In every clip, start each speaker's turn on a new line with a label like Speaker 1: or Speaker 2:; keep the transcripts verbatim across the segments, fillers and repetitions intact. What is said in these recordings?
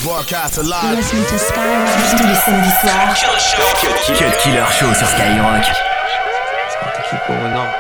Speaker 1: Broadcast alive.
Speaker 2: Listen to Skyrock tous les samedis soirs.
Speaker 3: Cut Killer Show sur Skyrock.
Speaker 4: Keep going on.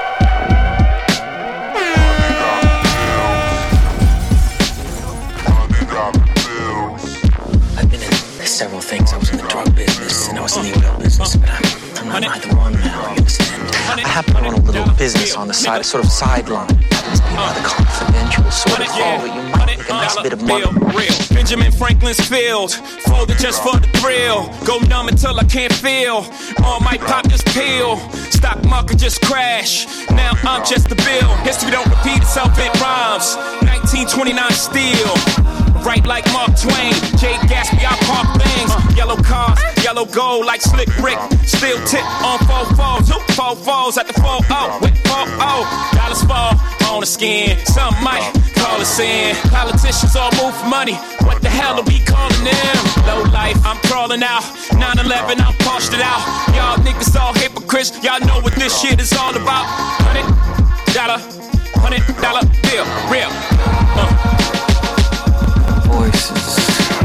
Speaker 5: I've been in several things. I was in the drug business and I was in the oil business, but I'm, I'm not either one now, you understand?
Speaker 4: I happen to run a little business on the side, a sort of sideline. Happens to be a rather confidential sort of haul that you might make a nice bit of money.
Speaker 6: Benjamin Franklin's field, folded just for the thrill. Go numb until I can't feel. All might pop this pill. Stock market just crash. Now I'm just a bill. History don't repeat itself, it rhymes. nineteen twenty-nine steel. Right like Mark Twain, Jay Gatsby, I park things. Yellow cars, yellow gold like Slick Rick. Still tip on four fours, two four fours at the four oh. With four oh, dollars fall on the skin. Some might call us in. Politicians all move for money. What the hell are we calling them? Low life, I'm crawling out. nine eleven, I'm parched it out. Y'all niggas all hypocrites. Y'all know what this shit is all about. Hundred dollar, hundred dollar bill, real. Uh.
Speaker 4: Voices.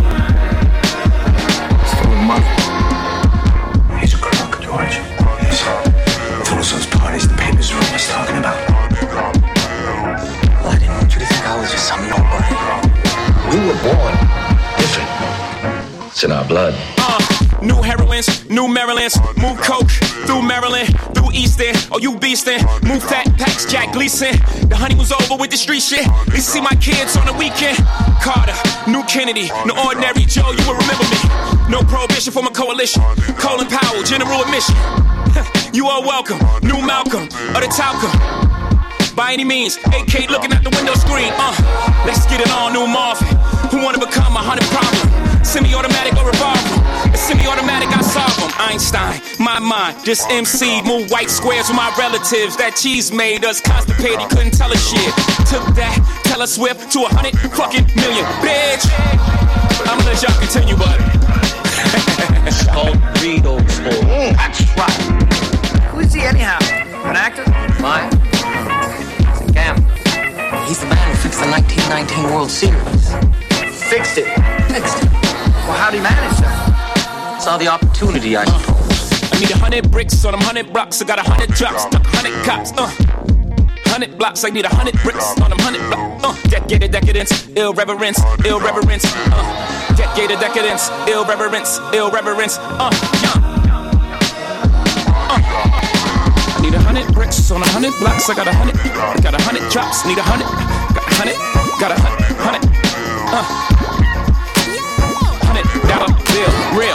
Speaker 4: Still a month.
Speaker 5: He's a crook, George. Yes. Those those parties the papers were always talking about. Well, I didn't want you to think I was just some nobody.
Speaker 7: We were born different. It's in our blood.
Speaker 6: Uh, new heroines, new Marylands. Move coke through Maryland, through Easton. Oh, you beastin'. Move fat packs, Jack Gleason. The honey was over with the street shit. At least see my kids on the weekend. Carter, new Kennedy, no ordinary Joe, you will remember me. No prohibition for my coalition. Colin Powell, general admission. You are welcome, new Malcolm, or the Talcum. By any means, A K looking at the window screen. Uh, let's get it on, new Marvin. Who wanna become a hundred problem? Semi-automatic or revolver? A semi-automatic, I solve them. Einstein, my mind, just M C. Move white squares with my relatives. That cheese made us constipated, couldn't tell us shit. Took that, tell us Swift to a hundred fucking million. Bitch, I'ma let y'all continue, but
Speaker 4: It's called Reed Old School.
Speaker 5: Mm, that's right.
Speaker 8: Who is he anyhow? An actor?
Speaker 4: Mine? It's a gambler. He's the man who fixed the nineteen nineteen World Series.
Speaker 8: Fixed it.
Speaker 4: Fixed it.
Speaker 8: Well, how'd he manage that?
Speaker 4: Saw the opportunity, I suppose.
Speaker 6: I need a hundred bricks on them hundred blocks. I got a hundred drops, stuck a hundred cops. Uh, hundred blocks. I need a hundred bricks on them hundred blocks. Uh, decade of decadence, ill reverence, ill reverence. Uh, decade of decadence, ill reverence, ill reverence. Uh, yeah. Uh, I need a hundred bricks on a hundred blocks. I got a hundred, got a hundred drops. Need a hundred, got a hundred, got a hundred, hundred. Uh, hundred dollar bill, real.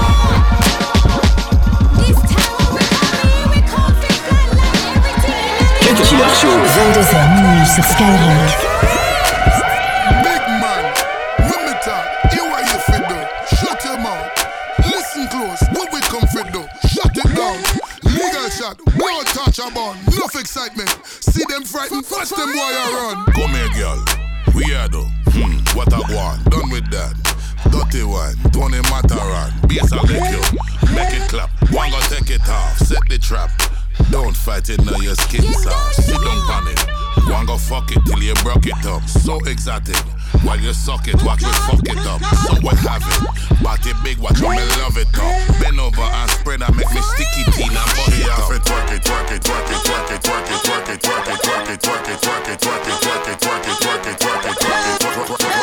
Speaker 3: Cut Killer Show.
Speaker 2: vingt-deux heures minuit sur Skyrock.
Speaker 1: Big man, when me talk, hear what you fit do. Shut your mouth. Listen close, what we come fit do. Shut it down. Legal shot, blow touch a bun. Enough excitement. See them frightened, watch them boy a run.
Speaker 9: Come here, girl. We are though. Hmm, what I want. Done with that. Dirty one, Tony Mataran. Bass I lick you. Make it clap. One go take it off. Set the trap. Don't fight it now, your skin soft. Sit down on it. One go fuck it till you broke it up. So exotic. While you suck it, watch me fuck it up. So what have it? Body big, watch me love it up. Bend over and spread and make me sticky teen and bust it up. Twerk it, twerk it, twerk it, twerk it, twerk it, twerk it, twerk it, twerk it, twerk it, twerk it, twerk it, twerk it, twerk it, twerk it, twerk it, twerk it, twerk it,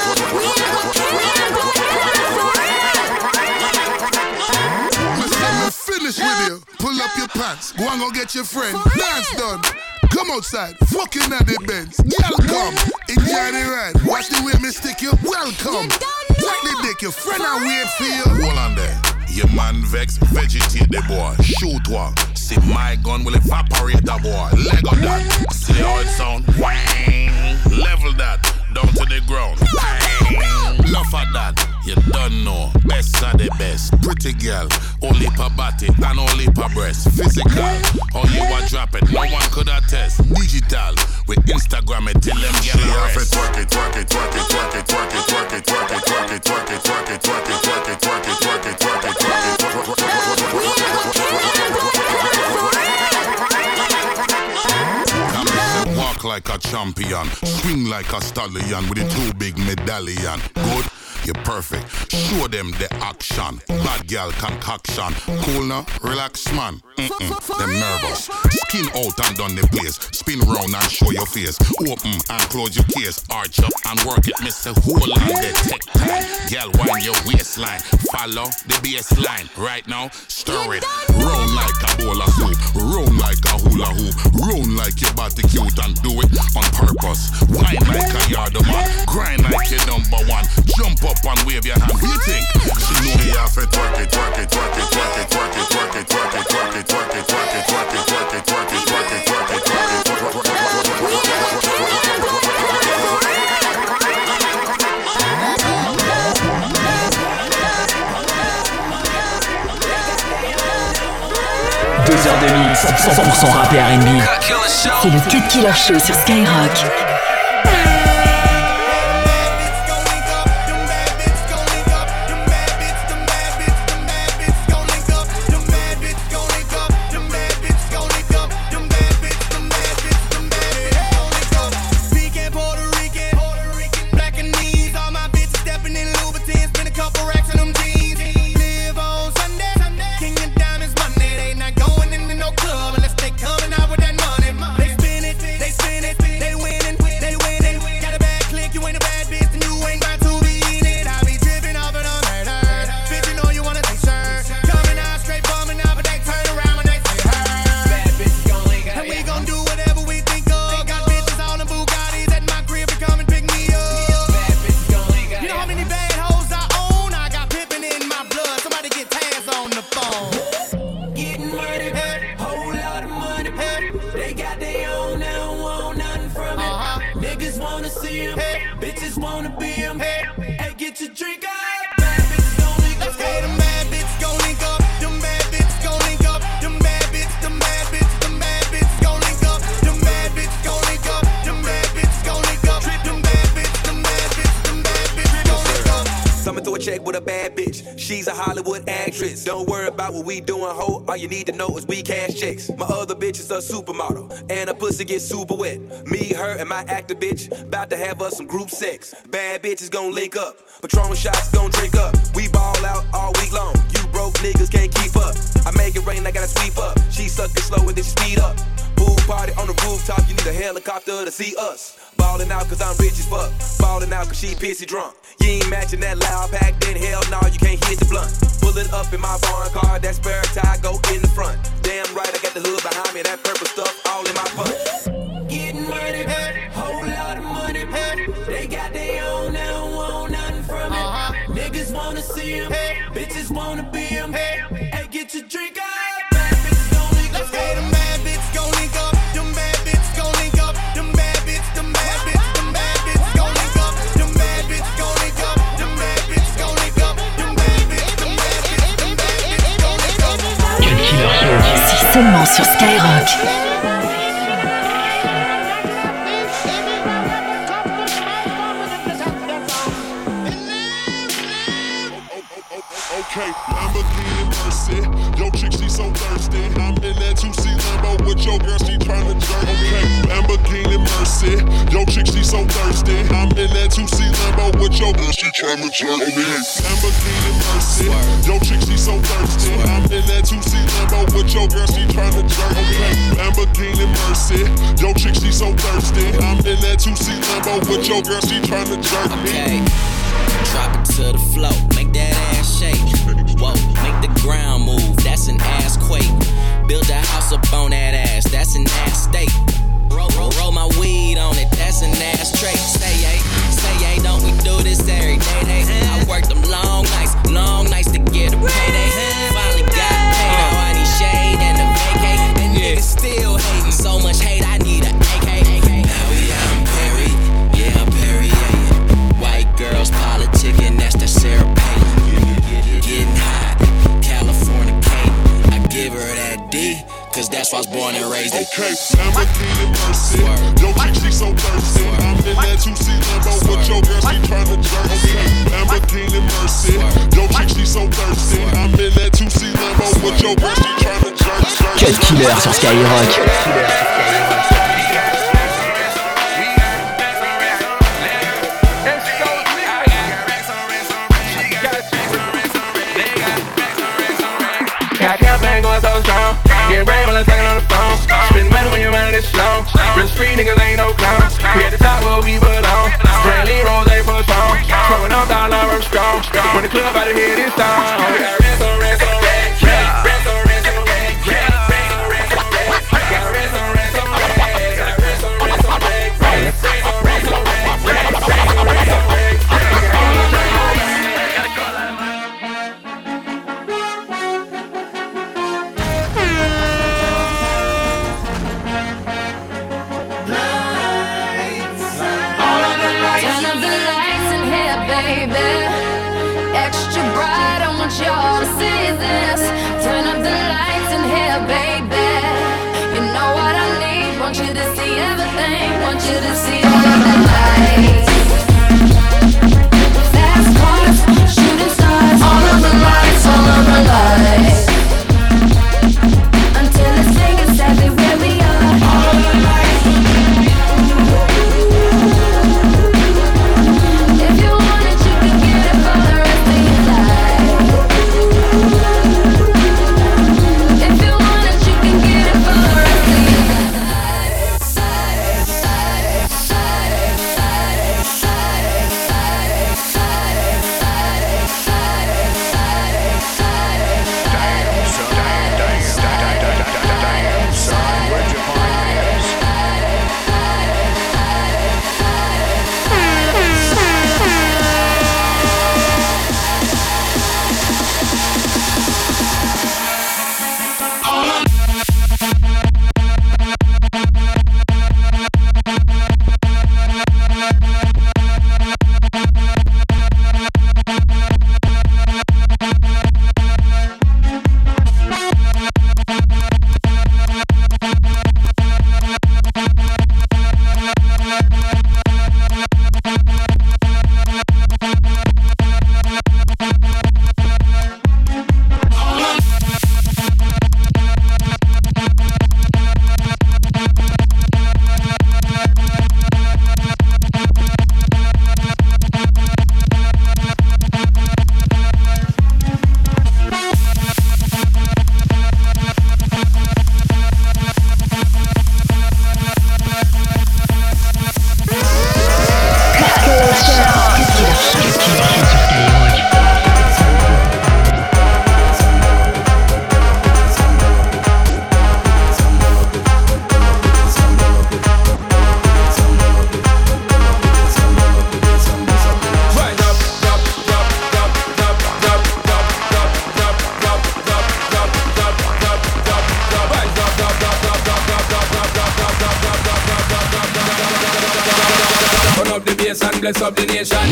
Speaker 1: Finish with you. Pull up your pants. Go and go get your friend. Dance done. Come outside. Fucking at the Benz. Girl, come. Enjoy the ride. Watch the way me stick you. Welcome. Take the dick. Your friend I wait for you.
Speaker 9: Hold on there. Your man vex, vegetate the boy. Shoot one. See my gun will evaporate the boy. Leg on that. See how it sound? Wang. Level that. Down to the ground. Bang. Enough of that. You don't know. Best of the best. Pretty girl. Only per body and only per breast. Physical. How you a drop it. No one could attest. Digital. With Instagram it till them get a rest. Twerk it, twerk it, twerk it, twerk it, twerk it, twerk it, twerk it, twerk it, twerk it, twerk it, twerk it, twerk it, twerk it, twerk it, twerk it, twerk it, twerk it. Walk like a champion, swing like a stallion with a two big medallion. Good, you're perfect. Show them the action. Bad girl concoction. Cool now, relax man. Mm-mm, them nervous. Skin out and done the place. Spin round and show your face. Open and close your case. Arch up and work it, miss a whole on the tech time. Girl, wind your waistline. Follow the baseline. Right now, stir it. Round like a bowl of soup. Round like a hula hoop. Round like your body cute and do it on purpose. Wine like a yard man. Grind like your number one. Jump up and wave your hand. What do you think? She know me have to twerk it, twerk it, twerk it, twerk it, twerk it, twerk it, twerk it, twerk it, twerk it, twerk it, twerk it, twerk it, twerk it, twerk it, twerk it, twerk it, twerk it.
Speaker 2: Deux heures de mix, cent pour cent rap et R and B. C'est le Cut Killer Show sur Skyrock.
Speaker 10: She's a Hollywood actress. Don't worry about what we doing, ho. All you need to know is we cash checks. My other bitch is a supermodel, and her pussy gets super wet. Me, her, and my actor bitch about to have us some group sex. Bad bitches gon' link up. Patron shots gon' drink up. We ball out all week long. You broke niggas can't keep up. I make it rain, I gotta sweep up. She suck it slow and then she speed up. Pool party on the rooftop, you need a helicopter to see us. Ballin' out cause I'm rich as fuck. Ballin' out cause she pissy drunk. You ain't matching that loud pack, then hell no, you can't hit the blunt. Pull it up in my foreign car, that spare tire go in the front. Damn right, I got the hood behind me, that purple stuff all in my punch. Getting money, hey, whole lot of money, hey. They got their own, they don't want nothing from it. Uh-huh. Niggas wanna see them, hey. Bitches wanna be them, hey. Hey, get your drink up. Bad bitches gon' link up, hey. Them bad bitches gon' link up. Them bad bitches gon' link up. Them bad bitches, them bad bitches, them bad bitches gon' link up. Them bad bitches gon' link up. Them bad bitches gon' link up. Them bad bitches, them bad bitches, them bad bitches gon' link up.
Speaker 2: Cut Killer Show, c'est seulement sur Skyrock.
Speaker 9: Okay, Lamborghini Mercy. Yo, chick, she so thirsty. I'm in that two C Lambo with your girl, she tryna jerk. Okay, Lamborghini Mercy. Yo, chick, she so thirsty. I'm in that two C Lambo with your girl, she tryna jerk. Okay, Lamborghini Mercy. Yo, chick, she so thirsty. I'm in that two C Lambo with your girl, she tryna jerk. Okay, Lamborghini Mercy. Yo, chick, she so thirsty. I'm in that two C Lambo with your girl, she tryna jerk me.
Speaker 11: Okay. Drop it to the floor, make that ass shake. Whoa, make the ground move, that's an ass quake. Build a house up on that ass, that's an ass state. Roll, roll, roll my weed on it, that's an ass trait. Say yay, say yay, don't we do this every day? Day. I worked them long nights, long nights to get a payday. Finally got paid, now I need shade and a vacate. And niggas still hating, so much hate, I need a A K. Now we out in Perry, yeah, I'm Perry, yeah. White girls politicking, that's the Sarah Palin. Getting hot, California Kate. I give her that D, cause that's why I was born and raised in.
Speaker 9: Okay, Lamborghini Mercy. Yo, chick, she so thirsty. I'm in that two C Lambo with your girl, she tryna jerk. Okay, Lamborghini Mercy. Yo, chick, she so thirsty. I'm in that two C Lambo with your girl, she tryna jerk.
Speaker 3: Cut Killer sur Skyrock.
Speaker 12: Get brave when I'm talking on the phone. Spend money when you're running this slow. Risk free niggas ain't no clowns. We at the top where we belong. Brandy Rose ain't for song. Throwing up dollar I'm strong. When the club out of here this time. We got rest on rest on rest. Rest on rest on rest. Rest on rest on rest. Got rest on rest on rest. Got rest on rest on rest. Rest on rest on rest. Rest on rest on rest.
Speaker 13: Y'all to see this. Turn up the lights in here, baby. You know what I need. Want you to see everything. Want you to see all of the lights. Fast cars, shooting stars. All of the lights, all of the lights. Until the singers everywhere we are. All of the lights. If you want it, you can get it for the rest of your life. If you want it, you can get it for the rest of your
Speaker 12: bless up the nation.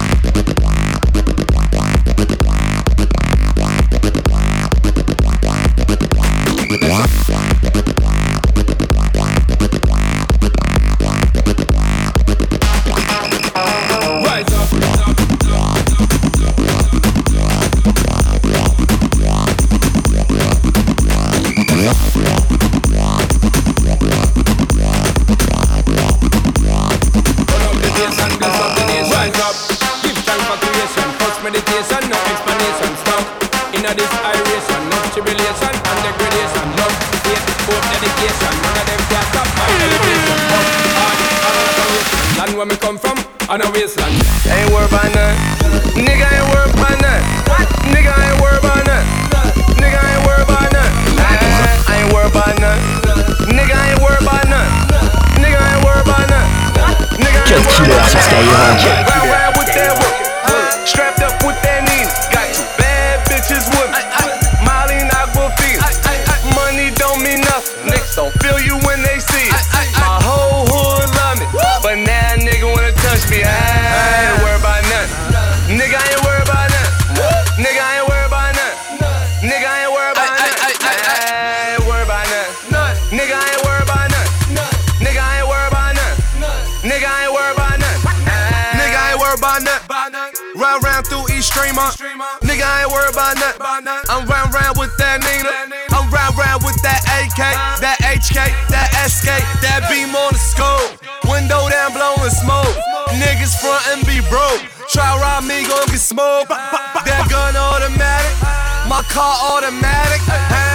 Speaker 12: Where me come from, on a wasteland. Ain't worried about none. Nigga ain't worried about none. Nigga ain't worried about none. Nigga ain't worried about none. I ain't worried about none. Nigga ain't worried about none. Nigga ain't worried about none. Nigga ain't worried about none. Round round with that whip, strapped up with that Nina. Got two bad bitches with me. Molly and Aquafina. Money don't mean nothing. Niggas don't feel you when they see it. My whole hood love me, but now nigga wanna touch me. I ain't worried about nothing. Nigga ain't worried about nothing. Nigga ain't worried about nothing. Nigga ain't worried about nothing. I ain't worried about nothing. Nigga ain't worried about nothing. Nigga ain't worried about nothing. Nigga ain't worried about nothing. Nigga ain't worried about nothing. Round round through East Streamer. Nigga ain't worried about nothing. I'm round round with that Nina. I'm round round with that A K, that H K, that S K, that beam on the scope. Window down blowing smoke. Niggas front and be broke. Try rob me, gon' get smoked. That gun automatic, my car automatic. Huh?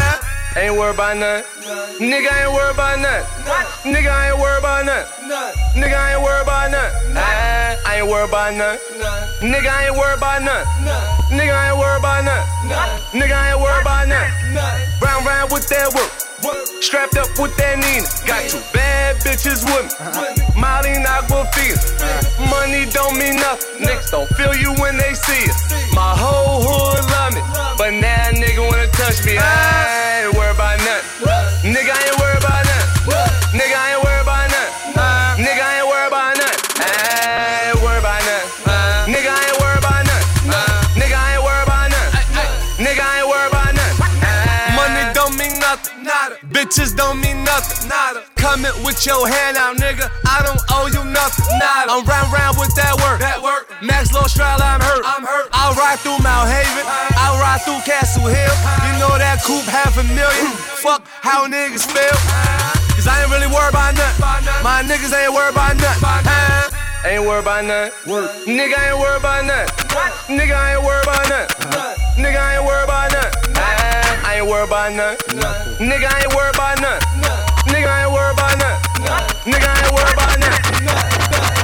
Speaker 12: Ain't worried about nothing. Nigga ain't worried about nothing. Nigga ain't worried about nothing. Nigga ain't worried about nothing. I ain't worried about nothing. Nigga ain't worried about nothing. Nigga ain't worried about nothing. Nigga ain't worried about nothing. Round round with that work. Strapped up with that Nina. Got two bad bitches with me. Molly and Aquafina. Money don't mean nothing. Niggas don't feel you when they see it. My whole hood love me, but now nigga wanna touch me. I ain't worried about nothing. Nigga ain't worried about nothing. Nigga ain't worried about nothing. Nigga ain't worried about nothing. I ain't worried about nothing. Nigga ain't worried about nothing. Nigga ain't worried about nothing. Nigga ain't worried about nothing. Money don't mean nothing. Nada. Bitches don't mean nothing. Nada. Coming with your hand out, nigga. I don't owe you nothing. Nada. I'm round round with that work. That work. Max Low Strala, I'm hurt. I'm hurt. I'll ride through Mount Haven. I'll ride through Castle Hill. You know that coupe half a million. Fuck how niggas feel. Cause I ain't really worried about nothing. My niggas ain't worried about nothing. Ain't worried about nothing. Nigga ain't worried about nothing. Nigga ain't worried about nothing. Nigga ain't worried about nothing. I ain't worried about nothing. Nigga ain't worried about nothing. Nigga ain't worried about nothing. Nigga ain't worried about nothing.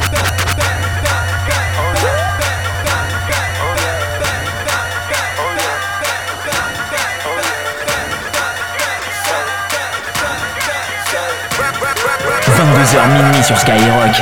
Speaker 2: vingt-deux heures minuit sur Skyrock.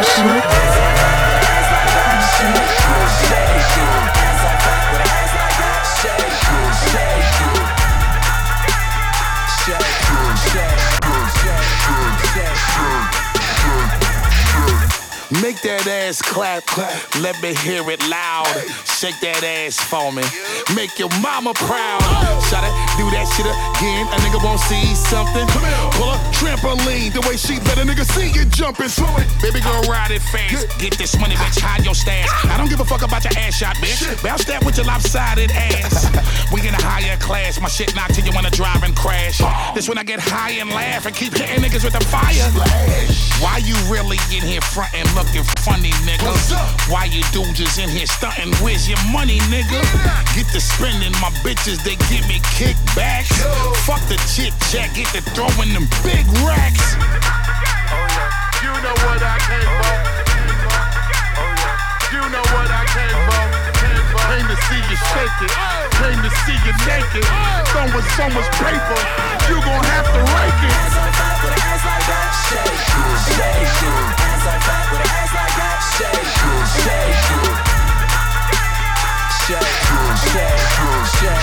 Speaker 9: Make that ass clap, clap, let me hear it loud. Shake that ass for me, make your mama proud. Shout it, do that shit again, a nigga won't see something. Pull a trampoline, the way she let a nigga see you jumping. Baby girl, ride it fast, get this money, bitch, hide your stash. I don't give a fuck about your ass shot, bitch. Bounce that with your lopsided ass. We in a higher class, my shit knock till you wanna drive and crash. This when I get high and laugh and keep hitting niggas with the fire. Why you really in here frontin' looking funny, nigga? Why you dudes is in here stuntin'? Where's your money, nigga? Get to spending, my bitches, they give me kickbacks. Fuck the chit chat, get to throwing them big racks.
Speaker 14: You know what I came for. You know what I came for. Came to see you shake it. Came to see you naked. Throwing so much paper, you gon' have to rake it. Ass on fire with an ass like that. Shake, shake. Ass on fire with an ass like that. Shake, shake. Shake, shake,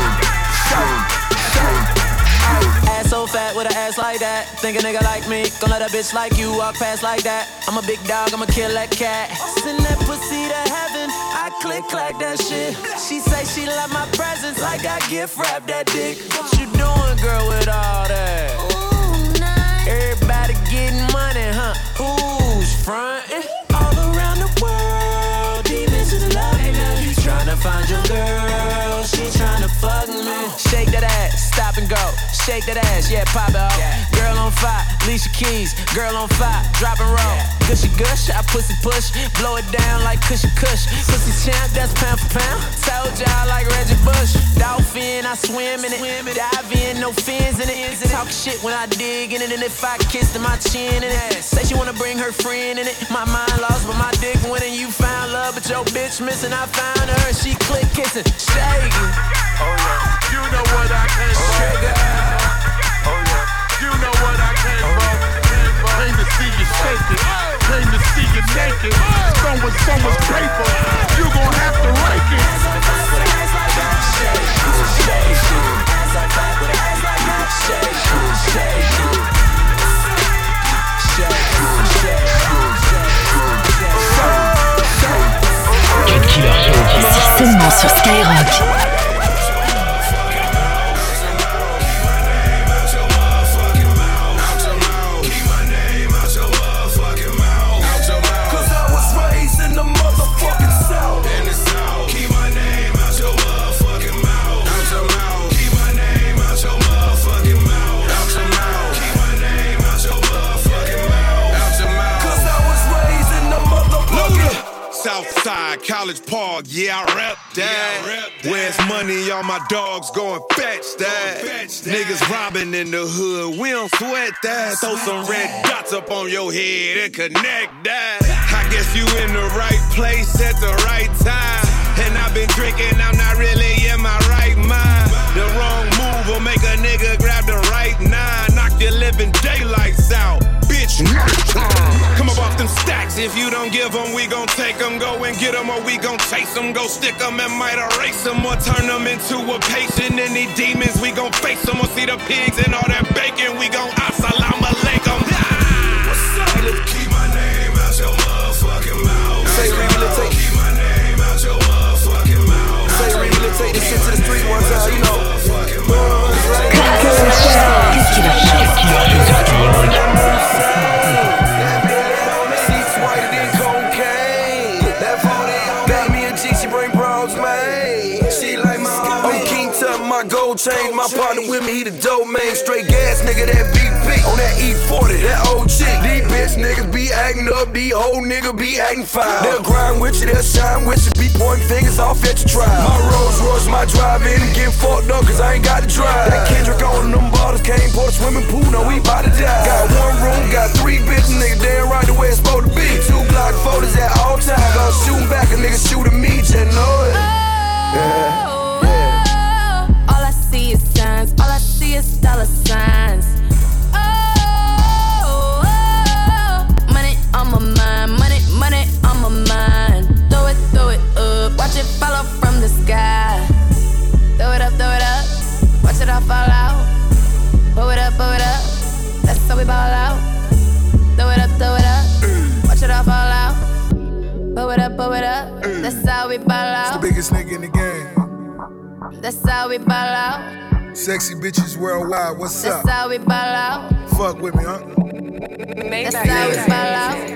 Speaker 14: shake. Ass so fat with an ass like that. Think a nigga like me, gon' let a bitch like you walk past like that. I'm a big dog, I'ma kill that cat. Send that pussy to heaven, I click clack that shit. She say she love my presence, like I gift wrap that dick. What you doing, girl, with all that? Ooh, nice. Everybody getting money, huh? Who's frontin'? All around the world, these bitches love me. You tryna find your girl, she tryna fuck me. Shake that ass, stop and go. Shake that ass, yeah, pop it off. Yeah. Girl on fire, Alicia Keys. Girl on fire, drop and roll. Yeah. Gushy gush, I pussy push. Blow it down like cushy cush. Pussy champ, that's pound for pound. Told y'all like Reggie Bush. Dolphin, I swim in it. Dive in, no fins in it. Talk shit when I dig in it. And if I kiss to my chin in it. Say she wanna bring her friend in it. My mind lost, but my dick winning. You found love, but your bitch missing. I found her and she click kissing. Shake it. Oh yeah. You know what I came for. Oh yeah. You know what I came for. Came to see you shake it. Came to see you naked. Throwing so much paper, you gon' have to rake it. Ass on fire with an ass like that. Shake, shake. Ass on fire with an ass like that. Shake, shake. Shake, shake.
Speaker 2: Cut Killer Show, c'est seulement sur Skyrock.
Speaker 9: College Park, yeah, I rep that. Yeah, rep that. Where's money, all my dogs going fetch that. Going fetch that. Niggas robbing in the hood, we don't sweat that. Throw some red dots up on your head and connect that. I guess you in the right place at the right time. And I've been drinking, I'm not really in my right mind. The wrong move will make a nigga grab the right nine. Knock your living daylights out, bitch. Come up off them stacks, if you don't give them, we gon' take them. Go and get them or we gon' chase them. Go stick them and might erase them or turn them into a patient. Any demons, we gon' face them. Or see the pigs and all that bacon, we gon' assalamu alaikum. What's up? Keep my name out your motherfucking mouth.
Speaker 15: Say rehabilitate.
Speaker 9: Keep my name out your motherfucking mouth.
Speaker 15: Say rehabilitate this shit to the street one time, you know. Change my partner with me, he the dope man. Straight gas nigga, that B P on that E forty, that old chick. These bitch niggas be acting up, these old niggas be acting foul. They'll grind with you, they'll shine with you, be pointing fingers off at your trial. My Rolls Royce, my drive-in, and getting fucked up cause I ain't got to drive. That Kendrick on them bottles, can't pour the swimming pool, no, we bout to die. Got one room, got three bitches, nigga, damn right the way it's supposed to be. Two Glock photos at all times, gonna shoot back, a nigga shooting me, just know it. Yeah.
Speaker 13: All I see is dollar signs. Oh, oh, money on my mind, money, money on my mind. Throw it, throw it up, watch it fall off from the sky. Throw it up, throw it up, watch it all fall out. Blow it up, blow it up, that's how we ball out. Throw it up, throw it up, watch it all fall out. Blow it up, blow it up, that's how we ball out.
Speaker 1: It's the biggest nigga in the game.
Speaker 13: That's how we ball out.
Speaker 1: Sexy bitches worldwide, what's
Speaker 13: That's
Speaker 1: up?
Speaker 13: That's how we ball out.
Speaker 1: Fuck with me, huh?
Speaker 13: That's how yeah. we ball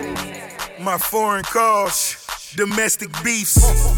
Speaker 13: out.
Speaker 1: My foreign calls, domestic beefs.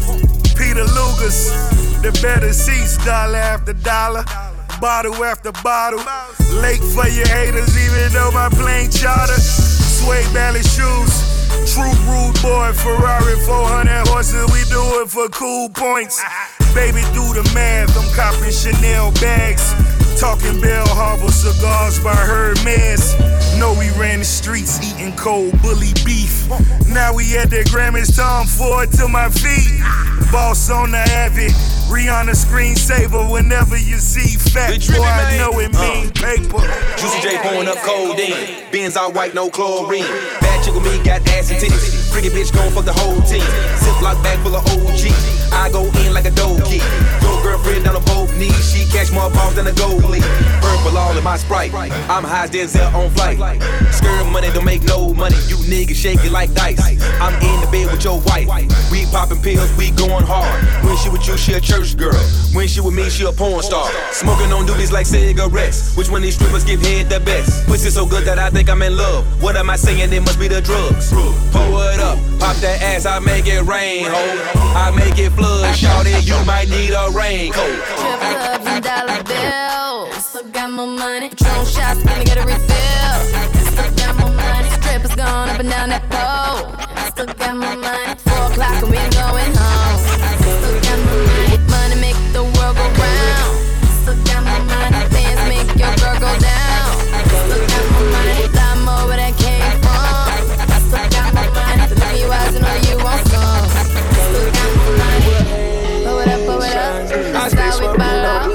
Speaker 1: Peter Luger's, the better seats, dollar after dollar, bottle after bottle. Late for your haters, even though my plane charter. Suede ballet shoes. True rude boy, Ferrari, four hundred horses, we do it for cool points. Baby, do the math, I'm copping Chanel bags. Talking Bell Harbor cigars by Hermes. Know we ran the streets eating cold bully beef. Now we at the Grammys, Tom Ford to my feet. Boss on the Avid, Rihanna screensaver. Whenever you see fat boy, I know it mean uh, paper.
Speaker 10: Juicy J pouring up codeine. Benz all white, no chlorine. Bad chick with me, got ass and titties. Freaky bitch gon' fuck the whole team. Ziploc bag full of O G. I go in like a dope key. Your girlfriend down on both knees. She catch more balls than a goalie. Purple all in my Sprite. I'm high as Denzel on flight. Skirt money don't make no money. You niggas shake it like dice. I'm in the bed with your wife. We popping pills, we going hard. When she with you, she a church girl. When she with me, she a porn star. Smoking on duties like cigarettes. Which one of these strippers give head the best? Pussy so good that I think I'm in love. What am I saying? It must be the drugs. Pull it up, pop that ass, I make it rain, ho. I make it flood, shout it, you might need a raincoat.
Speaker 13: Strip clubs and dollar bills. Still got more money. Patron shots, gonna get a refill. Still got more money. Strippers gone up and down that pole. Still got more money. Four o'clock and we ain't going home. Still got more money. Money make the world go round. Still got more money. Bands make your girl go down. Still got more money. Lot more where that came from. Still got more money. So look you eyes and know you want some. Still got more money. Blow it up, blow it up. That's how we ball out.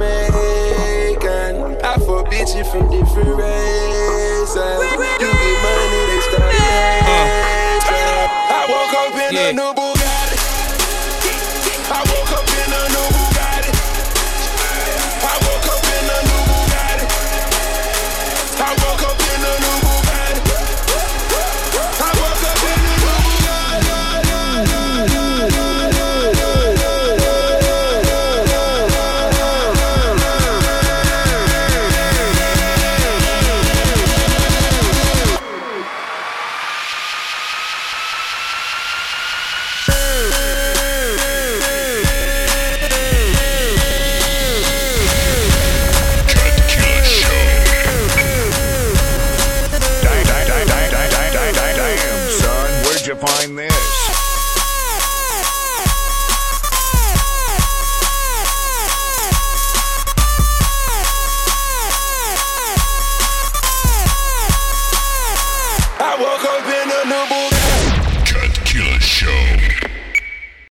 Speaker 15: I for bitches from different races. You get money, they start uh, I woke up in yeah. a new booty.